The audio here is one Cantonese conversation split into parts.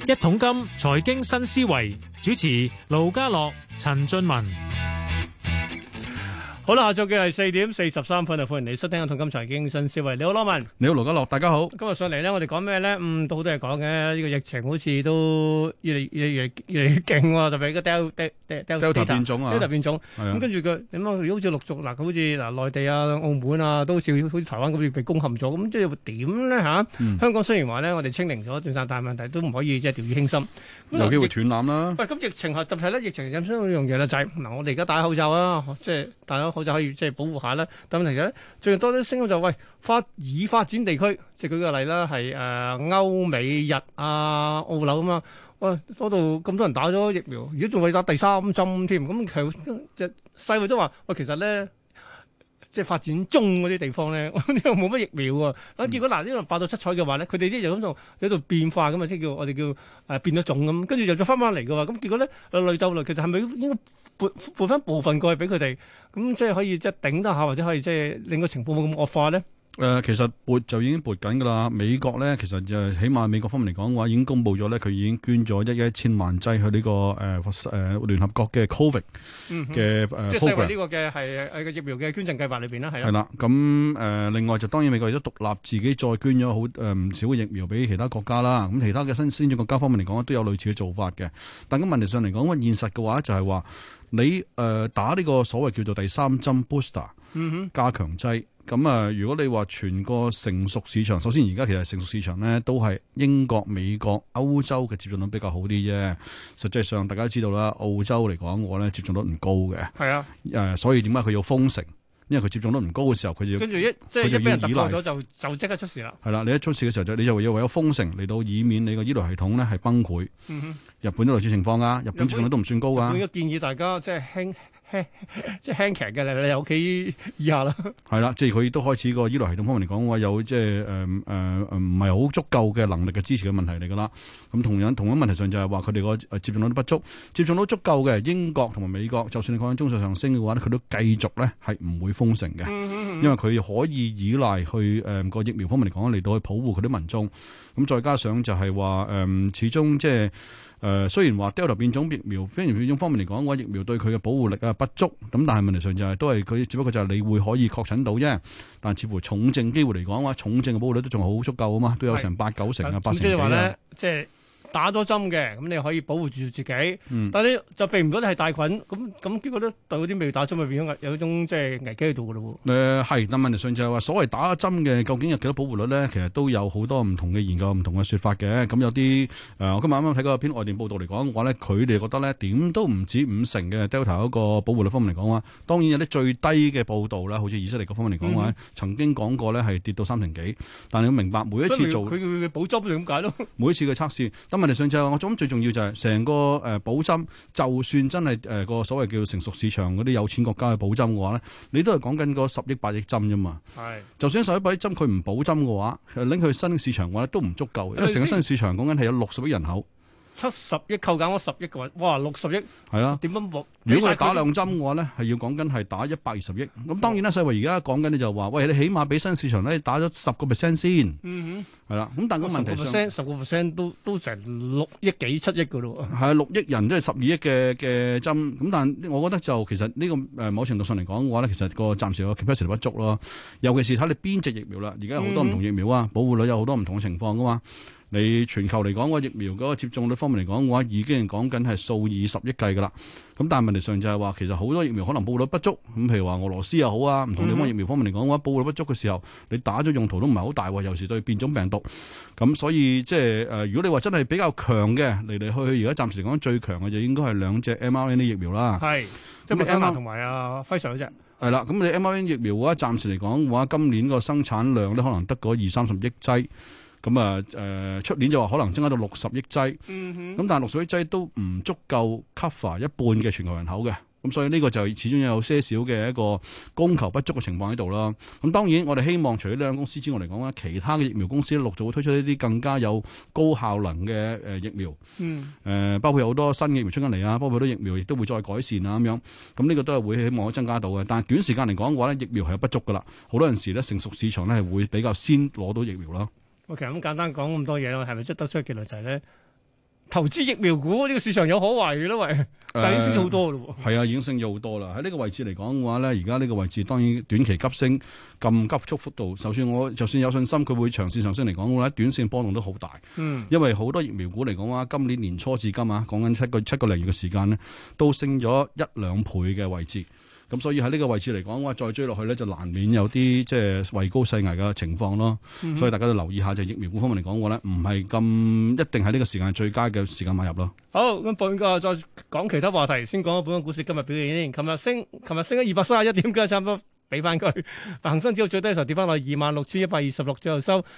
一桶金財經新思維，主持盧家樂、陳俊文。 好啦，下晝嘅係4:43啊！歡迎你收聽《一桶金財經新思維》。你好，羅文。 你好，盧家樂，大家好。 今日上嚟咧，我哋講咩咧？到好多嘢講嘅。呢個疫情好似都越嚟越勁喎，特別個 Delta 變種啊 ，Delta 變種。咁跟住佢點啊？好似陸續嗱，好似嗱內地啊、澳門啊，都好似台灣咁樣被攻陷咗。咁即係點咧嚇？香港雖然話咧，我哋清零咗一段時間，但係問題都唔可以即係掉以輕心。 有機會斷纜啦。 喂，咁疫情係特別咧，疫情引申一樣嘢啦，就係嗱，我哋而家戴口罩啊，即係戴咗口罩可以即係保護下啦。但問題咧，最近多啲聲音就喂已發展地區，即係舉個例啦，係歐美日啊、澳紐咁啊，喂嗰度咁多人打咗疫苗，如果仲未打第三針添，咁其實世衞都話喂，其實咧。即係發展中嗰啲地方咧，呢度冇乜疫苗喎。結果嗱，呢度8到7彩嘅話咧，佢哋啲就咁就喺度變化咁啊，即係我哋叫變咗種咁，跟住又再翻嚟嘅話，咁結果咧累鬥累，其實係咪應該撥翻部分過去俾佢哋，咁即係可以即係頂得下，或者可以即係令個情況冇咁惡化咧？ 其實撥就已經撥緊㗎啦。美國咧，其實就起碼美國方面嚟講嘅話，已經公布咗咧，佢已經捐咗1,000萬劑去呢個聯合國嘅 Covid 嘅即係世衛呢個嘅係個疫苗嘅捐贈計劃裏邊啦，係啦。 係啦，咁另外就當然美國亦都獨立自己再捐咗好唔少嘅疫苗俾其他國家啦。咁其他嘅先進國家方面嚟講都有類似嘅做法嘅。但咁問題上嚟講，現實嘅話就係話你打呢個所謂叫做第三針 booster 加強劑。咁如果你話全個成熟市場，首先而家其實成熟市場咧都係英國、美國、歐洲嘅接種率比較好啲啫。實際上大家都知道啦，澳洲嚟講我咧接種率唔高嘅。係啊，所以點解佢要封城？因為佢接種率唔高嘅時候，佢就跟住一俾人突破咗就即刻出事啦。係啦，你一出事嘅時候你就要為咗封城嚟到以免你個醫療系統咧係崩潰。日本都類似情況啊，日本接種率都唔算高㗎。 我應該建議大家即係輕騎嘅你喺屋企以下啦。係啦，即係佢都開始個醫療系統方面嚟講話有即係唔係好足夠嘅能力嘅支持嘅問題嚟㗎啦。咁同樣問題上就係話佢哋個接種率都不足，接種率足夠嘅英國同埋美國，就算你講緊中數上升嘅話佢都繼續咧係唔會封城嘅，因為佢可以依賴去個疫苗方面嚟講嚟到去保護佢啲民眾。咁再加上就係話始終即係。雖然話 Delta 變種疫苗，變種方面嚟講嘅話，疫苗對佢嘅保護力不足，咁但係問題上就係都係佢只不過就係你會可以確診到啫，但似乎重症機會嚟講嘅話，重症嘅保護率都仲好足夠啊嘛，都有成8-9成啊，8成幾啊。即係話咧， 即係打咗針嘅，咁你可以保護住自己，但係你就避唔到你係帶菌，咁結果咧對嗰啲未打針咪變咗有一種即係危機喺度嘅咯喎。 係，但問題上就係話所謂打咗針嘅究竟有幾多保護率咧？其實都有好多唔同嘅研究、唔同嘅説法嘅。咁有啲我今日啱啱睇過一篇外電報道嚟講嘅話咧，佢哋覺得咧點都唔止50%嘅 Delta 嗰個保護率方面嚟講話，當然有啲最低嘅報道啦，好似以色列嗰方面嚟講話，曾經講過咧係跌到3成幾。但係你要明白每一次做佢嘅補針點解咯？ 每一次嘅測試。問題上就係我諗最重要就係成個補針，就算真係個所謂叫成熟市場嗰啲有錢國家去補針嘅話咧，你都係講緊個10億8億針啫嘛。係，就算11億針佢唔補針嘅話，拎去新市場嘅話都唔足夠，因為成個新市場講緊係有60億人口。 70億扣減我10億嘅話，哇60億係啊？點樣？ 如果係打2針嘅話咧，係要講緊係打120億。咁當然啦，世衛而家講緊咧就話，喂，你起碼俾新市場咧打咗10%先。係啦。咁但係個問題上 10%都成6億幾7億嘅咯。 係啊，6億人即係12億嘅針。咁但係我覺得就其實呢個某程度上嚟講嘅話咧，其實個暫時個 capacity 不足咯。尤其是睇你邊隻疫苗啦，而家有好多唔同疫苗啊，保護率有好多唔同嘅情況噶嘛。你全球嚟講個疫苗嗰個接種率方面嚟講嘅話，已經講緊係數以10億計噶啦。咁但係問題上就係話，其實好多疫苗可能保護率不足。咁譬如話俄羅斯又好啊，唔同地方疫苗方面嚟講嘅話，保護率不足嘅時候，你打咗用途都唔係好大喎。尤其是對變種病毒。咁所以即係如果你話真係比較強嘅嚟嚟去去，而家暫時嚟講最強嘅就應該係2隻 mRNA 疫苗啦。係， 即係 mRNA 同埋輝瑞嗰隻。 係啦，咁你 mRNA 疫苗嘅話，暫時嚟講嘅話，今年個生產量咧可能得嗰20-30億劑。咁出年就話可能增加到60億劑，咁但係60億劑都唔足夠 cover 一半嘅全球人口嘅。咁所以呢個就始終有些少嘅一個供求不足嘅情況喺度啦。咁當然我哋希望除咗呢兩間公司之外嚟講咧，其他嘅疫苗公司陸續會推出一啲更加有高效能嘅疫苗。包括有好多新嘅疫苗出緊嚟啊，包括好多疫苗亦都會再改善啊咁樣。咁呢個都係會希望可以增加到嘅。但係短時間嚟講嘅話咧，疫苗係有不足噶啦。好多陣時咧，成熟市場咧係會比較先攞到疫苗啦。 其實咁簡單講咁多嘢咯，係咪即係得出嘅結論就係咧， 投資疫苗股呢個市場有可為嘅咯，喂，但係已經升咗好多咯喎。 係啊，已經升咗好多啦。喺呢個位置嚟講嘅話咧，而家呢個位置當然短期急升咁急速幅度，就算有信心佢會長線上升嚟講嘅話，短線波動都好大。因為好多疫苗股嚟講話，今年年初至今啊，講緊七個零月嘅時間咧，都升咗1-2倍嘅位置。咁所以喺呢個位置嚟講，我再追落去咧，就難免有啲即係位高勢危嘅情況咯。所以大家都留意下，就疫苗股方面嚟講嘅話咧，唔係咁一定喺呢個時間係最佳嘅時間買入咯。 好，咁本個再講其他話題，先講本港股市今日表現先。琴日升咗231點，今日差唔多。俾翻佢，恒生指數最低嘅時候跌翻落26,126，最後收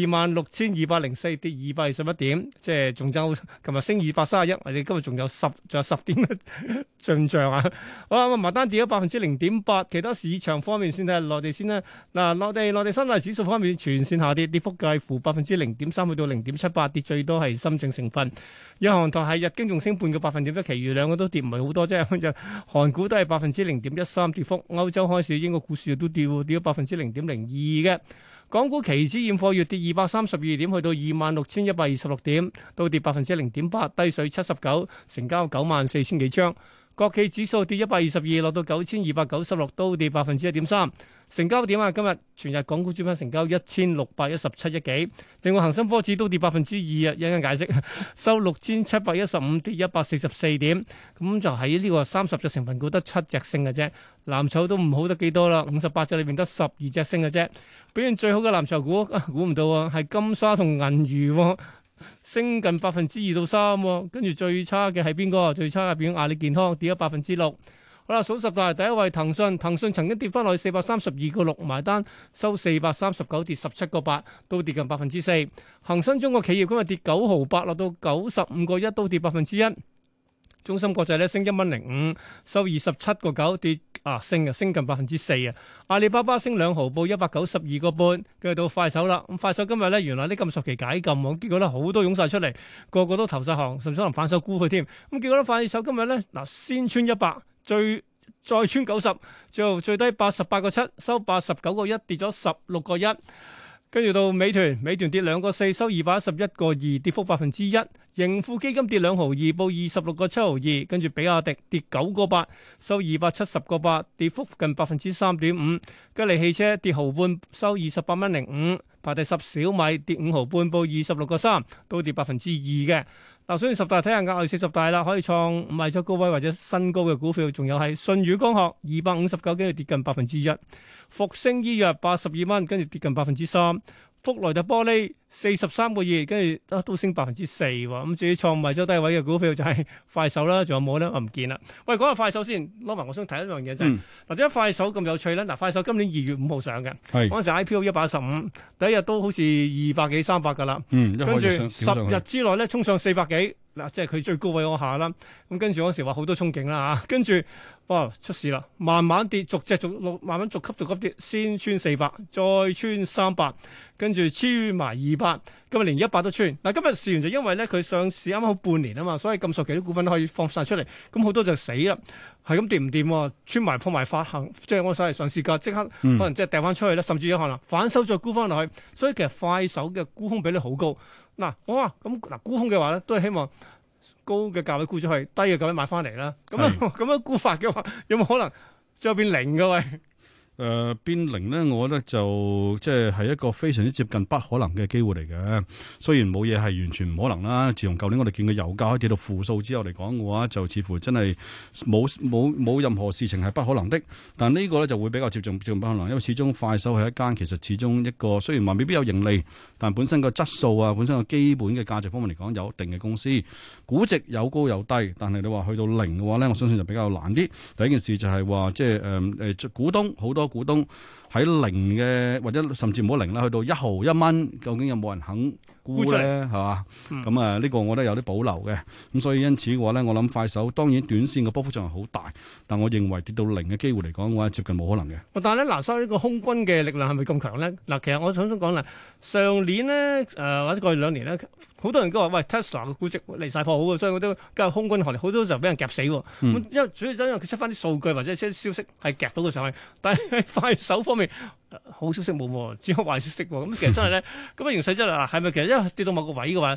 26,204，跌221點，即係仲爭。琴日升231，我哋今日仲有十點嘅進賬啊！好啦，咁埋單跌咗0.8%，其他市場方面先睇下內地先啦。嗱，內地三大指數方面全線下跌，跌幅介乎0.3%去到0.78%，跌最多係深證成分。日韓台係日經仲升半個百分點，即係其餘兩個都跌唔係好多啫。韓股都係0.13%跌幅，歐洲開市英國股市都跌咗0.02%嘅。港股期指現貨月跌232點，去到26,126點，都跌0.8%，低水79，成交94,000幾張。國企指數跌122，落到9,296，都跌1.3%。成交點啊，今日全日港股主板成交1,617億幾。另外恒生科指都跌2%啊，一陣間解釋，收6,715，跌144點。咁就喺呢個30隻成分股得7隻升嘅啫，藍籌都唔好得幾多啦，58隻裏邊得12隻升嘅啫。表現最好嘅藍籌股，估唔到啊，係金沙同銀娛，升近2%到3%。跟住最差嘅係邊個？最差嘅變阿里健康，跌咗6%。好啦，數十大第一位騰訊曾經跌翻落去432.6埋單，收439，跌17.8，都跌近4%。恒生中國企業今日跌9毫8，落到95.1，都跌1%。中芯國際咧升1.05，收27.9，跌升近4%啊！阿里巴巴升2毫，報192.5，跟住到快手啦。咁快手今日咧原來啲禁售期解禁，結果咧好多湧晒出嚟，個個都投晒行，甚至可能反手沽佢添。咁結果咧快手今日咧先穿100，再穿90，最後最低88.7，收89.1，跌咗16.1。跟住到美團跌2.4，收211.2，跌幅1%。盈富基金跌2毫2，報26.7毫2。跟住比亞迪跌9.8，收270.8，跌幅近3.5%。吉利汽車跌毫半，收28.05。排第10，小米跌5毫半，報26.3，都跌2%嘅。嗱，所以10大睇下額外40大啦，可以創賣出高位或者新高嘅股票，仲有係舜宇光學259，跟住跌近1%。復星醫藥82蚊，跟住跌近3%。福萊特玻璃43.2，跟住都升4%喎。咁至於創賣咗低位嘅股票就係快手啦，仲有冇咧？我唔見啦。喂，講下快手先，攞埋我想睇一樣嘢就係嗱，點解快手咁有趣咧？嗱，快手今年2月5號上嘅，嗰陣時 IPO 115，第一日都好似200幾300噶啦，跟住10日之內咧衝上400幾，嗱，即係佢最高位嗰下啦。咁跟住嗰時話好多憧憬啦嚇，跟住哇出事啦，慢慢跌，慢慢逐級跌，先穿400，再穿300，跟住穿埋200，今日連100都穿。嗱，今日試完就因為咧佢上市啱啱好半年啊嘛，所以禁售期啲股份都可以放晒出嚟，咁好多就死啦，係咁跌唔掂，穿埋破埋發行，即係我所謂上市價即刻可能即係掉翻出去啦，甚至有可能反手再沽翻落去，所以其實快手嘅沽空比率好高。嗱，我話咁嗱沽空嘅話咧，都係希望高嘅價位沽咗去，低嘅價位買翻嚟啦。咁樣沽法嘅話，有冇可能最後變零嘅喂？ 變零咧，我覺得就即係一個非常之接近不可能嘅機會嚟嘅。雖然冇嘢係完全唔可能啦。自從舊年我哋見到油價跌到負數之後嚟講嘅話，就似乎真係冇任何事情係不可能的。但呢個咧就會比較接近不可能，因為始終快手係一間其實始終一個雖然話未必有盈利，但本身個質素啊，本身個基本嘅價值方面嚟講有一定嘅公司，估值有高有低。但係你話去到零嘅話咧，我相信就比較難啲。第一件事就係話即係股東好多。股東喺零嘅或者甚至唔好零啦，去到1毫1蚊，究竟有冇人肯沽咧？係嘛？咁呢個我覺得有啲保留嘅。咁所以因此嘅話咧，我諗快手當然短線嘅波幅仲係好大，但我認為跌到零嘅機會嚟講嘅話，接近冇可能嘅。 但係咧，嗱，所以呢個空軍嘅力量係咪咁強咧？嗱，其實我想講啦，上年咧或者過去2年咧，好多人都話喂 Tesla 嘅估值離晒譜好嘅，所以我都加入空軍行列，好多就俾人夾死喎。因為主要因為佢出翻啲數據或者啲消息係夾到佢上去，但係快手方面好消息冇喎，只有壞消息喎。咁其實真係咧，咁嘅形勢真係係咪其實因為跌到某個位嘅話，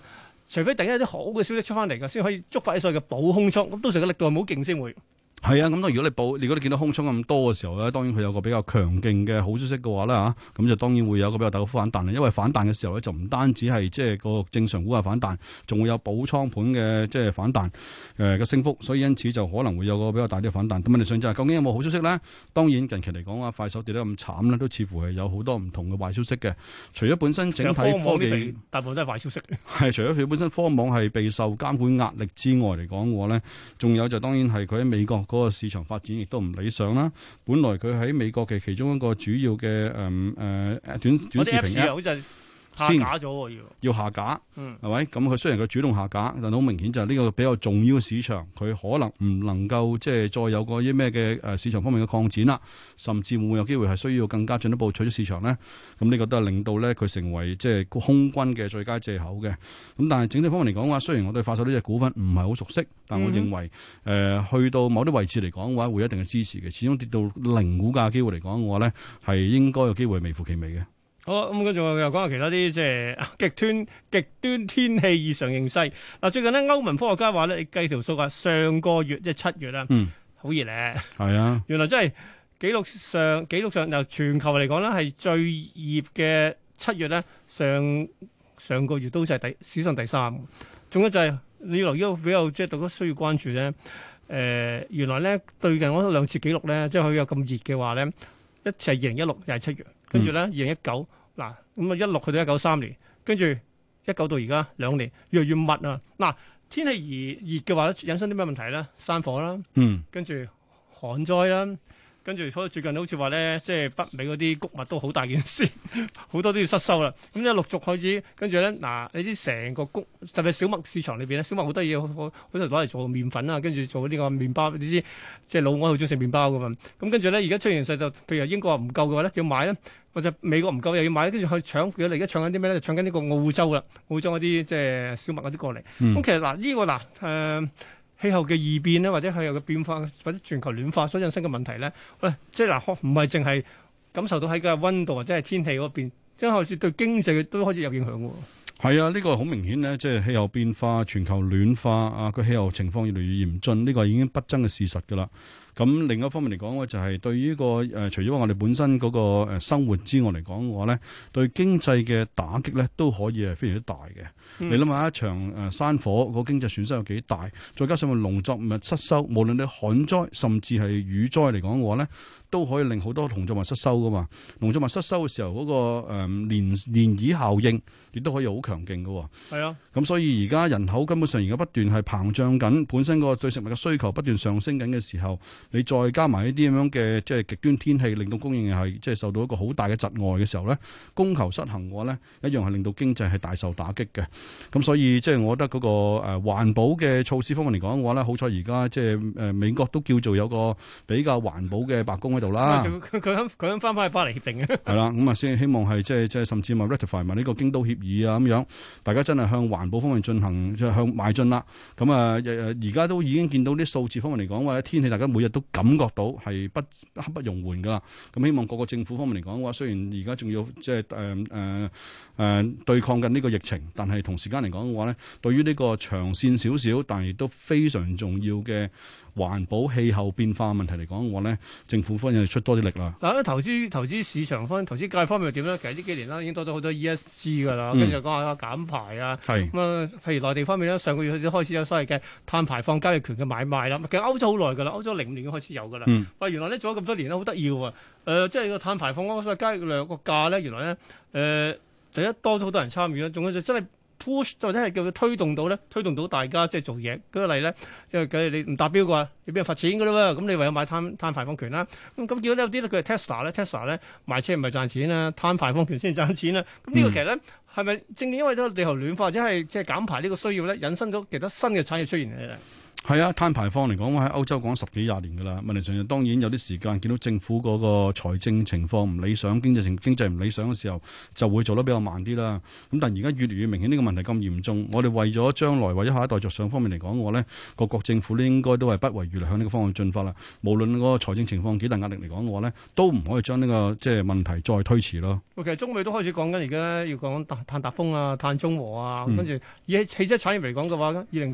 除非突然間有啲好嘅消息出翻嚟嘅，先可以觸發啲所謂嘅補空倉。咁到時個力度係冇勁先會。 係啊，咁當然如果你見到空倉咁多嘅時候咧，當然佢有個比較強勁嘅好消息嘅話咧嚇，咁就當然會有個比較大嘅反彈。因為反彈嘅時候咧，就唔單止係即係個正常股價反彈，仲會有補倉盤嘅即係反彈嘅升幅，所以因此就可能會有個比較大啲嘅反彈。咁問題上就係究竟有冇好消息咧？當然近期嚟講啊，快手跌得咁慘咧，都似乎係有好多唔同嘅壞消息嘅。除咗本身整體科技大部分都係壞消息。 係除咗佢本身科網係備受監管壓力之外嚟講嘅話咧，仲有就當然係佢喺美國嗰個市場發展亦都唔理想啦。本來佢喺美國嘅其中一個主要嘅短視頻好似下架咗喎， 要下架，係咪？咁佢雖然佢主動下架，但好明顯就係呢個比較重要嘅市場，佢可能唔能夠即係再有個啲咩嘅市場方面嘅擴展啦，甚至會唔會有機會係需要更加進一步取咗市場咧？咁呢個都係令到咧佢成為即係空軍嘅最佳藉口嘅。咁但係整體方面嚟講嘅話，雖然我對快手呢隻股份唔係好熟悉，但我認為去到某啲位置嚟講嘅話，會有一定嘅支持嘅。始終跌到零股價嘅機會嚟講嘅話咧，係應該有機會微乎其微嘅。 好，咁跟住我又講下其他啲即係極端天氣異常形勢。嗱，最近咧歐盟科學家話咧，你計條數啊，上個月即係7月啦，好熱咧。係啊，原來真係紀錄上由全球嚟講咧，係最熱嘅7月咧，上個月都就係史上第3。仲有就係你留意到比較即係大家需要關注咧。原來咧最近嗰2次紀錄咧，即係佢有咁熱嘅話咧。一次係2016又係7月，跟住咧2019嗱，咁啊16去到193年，跟住19到而家2年，越嚟越密啊！嗱，天氣熱嘅話，引申啲咩問題咧？山火啦，跟住旱災啦，跟住所以最近好似話咧，即係北美嗰啲穀物都好大件事，好多都要失收啦。咁一陸續開始，跟住咧嗱，你知成個特別小麥市場裏邊咧，小麥好多嘢，好多攞嚟做麵粉啊，跟住做呢個麵包，你知即係老外好中意食麵包噶嘛。咁跟住咧，而家出現勢就，譬如英國話唔夠嘅話咧，要買咧，或者美國唔夠又要買，跟住去搶。佢而家搶緊啲咩咧？就搶緊呢個澳洲啦，澳洲嗰啲即係小麥嗰啲過嚟。咁其實嗱，呢個氣候嘅異變咧，或者氣候嘅變化，或者全球暖化所引申嘅問題咧，喂，即係嗱，唔係淨係感受到喺個溫度或者係天氣嗰邊，即係開始對經濟都開始有影響喎。 係啊，呢個好明顯咧，即係氣候變化、全球暖化啊，個氣候情況越嚟越嚴峻，呢個已經不爭嘅事實㗎啦。咁另一方面嚟講咧，就係對於呢個除咗我哋本身嗰個生活之外嚟講嘅話咧，對經濟嘅打擊咧都可以係非常之大嘅。你諗下一場山火個經濟損失有幾大，再加上個農作物失收，無論你旱災甚至係雨災嚟講嘅話咧，都可以令好多農作物失收噶嘛。農作物失收嘅時候，嗰個漣漪效應亦都可以好強勁噶。係啊，咁所以而家人口根本上而家不斷係膨脹緊，本身個對食物嘅需求不斷上升緊嘅時候，你再加埋呢啲咁樣嘅即係極端天氣，令到供應係即係受到一個好大嘅窒礙嘅時候咧，供求失衡嘅話咧，一樣係令到經濟係大受打擊嘅。咁所以即係我覺得嗰個環保嘅措施方面嚟講嘅話咧，好彩而家即係美國都叫做有個比較環保嘅白宮喺度啦。 佢肯翻返去巴黎協定嘅。係啦，咁啊先希望係即係甚至咪 ratify 埋呢個京都協議啊咁樣，大家真係向環保方面進行即係向邁進啦。咁啊而家都已經見到啲數字方面嚟講或者天氣，大家每日都感覺到係刻不容緩噶啦。咁希望各個政府方面嚟講嘅話，雖然而家仲要即係對抗緊呢個疫情，但係同時間嚟講嘅話咧，對於呢個長線少少，但係亦都非常重要嘅環保氣候變化問題嚟講嘅話咧，政府方面要出多啲力啦。 嗱，投資市場方面、投資界方面又點咧？其實呢幾年啦，已經多咗好多 ESG 噶啦，跟住講下減排啊。係咁啊，譬如內地方面咧，上個月都開始有所謂嘅碳排放交易權嘅買賣啦。其實歐洲好耐噶啦，歐洲05年已經開始有噶啦。喂，原來咧做咗咁多年咧，好得意喎。即係個碳排放嗰個所謂交易量個價咧，原來咧第一多咗好多人參與啦，仲有就真係 push 或者係叫佢推動到大家即係做嘢。舉個例咧，因為假如你唔達標嘅話，你俾人罰錢㗎啦喎，咁你唯有買碳排放權啦。咁見到有啲咧，佢係 Tesla 咧賣車唔係賺錢啦，碳排放權先賺錢啦。咁呢個其實咧係咪正因為都地球暖化或者係即係減排呢個需要咧，引申到其他新嘅產業出現嘅？ 係啊，碳排放嚟講，喺歐洲講十幾廿年噶啦。問題上當然有啲時間見到政府嗰個財政情況唔理想，經濟唔理想嘅時候，就會做得比較慢啲啦。咁但係而家越嚟越明顯呢個問題咁嚴重，我哋為咗將來為咗下一代着想方面嚟講嘅話咧，各國政府咧應該都係不遺餘力向呢個方向進發啦。無論嗰個財政情況幾大壓力嚟講嘅話咧，都唔可以將呢個即係問題再推遲咯。 其實中美都開始講緊，而家要講碳達峰啊、碳中和啊，跟住以汽車產業嚟講嘅話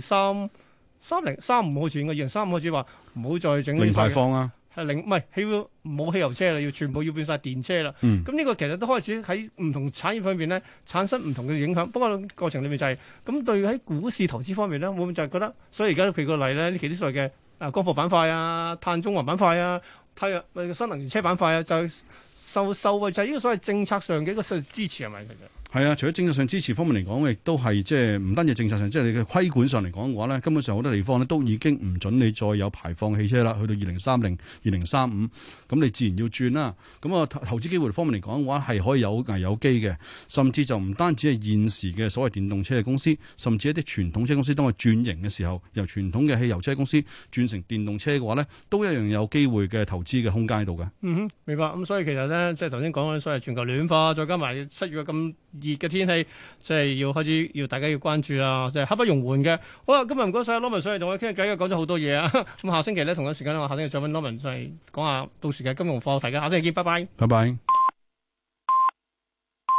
2030好似應該2035開始話唔好再整零排放啊， 係唔係冇汽油車啦，要全部要變晒電車啦。咁呢個其實都開始喺唔同產業方面咧產生唔同嘅影響。不過過程裏面就係咁對喺股市投資方面咧，會唔會就係覺得？所以而家譬如個例咧，呢期啲所謂嘅光伏板塊啊、碳中和板塊啊、新能源車板塊啊，就受惠就係呢個所謂政策上嘅一個支持係咪其實？ 係啊，除咗政策上支持方面嚟講，亦都係即係唔單止政策上，即係你嘅規管上嚟講嘅話咧，根本上好多地方咧都已經唔準你再有排放汽車啦。去到2030、2035，咁你自然要轉啦。咁啊，投資機會方面嚟講嘅話，係可以有危有機嘅，甚至就唔單止係現時嘅所謂電動車嘅公司，甚至一啲傳統車公司當佢轉型嘅時候，由傳統嘅汽油車公司轉成電動車嘅話咧，都一樣有機會嘅投資嘅空間喺度嘅。 明白。咁所以其實咧，即係頭先講嘅所謂全球暖化，再加埋7月咁熱嘅天氣，即係要開始要大家要關注啦，即係刻不容緩嘅。好啦，今日唔該晒 Norman 上嚟同我傾偈，講咗好多嘢啊。咁下星期咧同一時間我下星期再揾 Norman 再講下到時嘅金融課題嘅。下星期見，拜拜。 拜拜。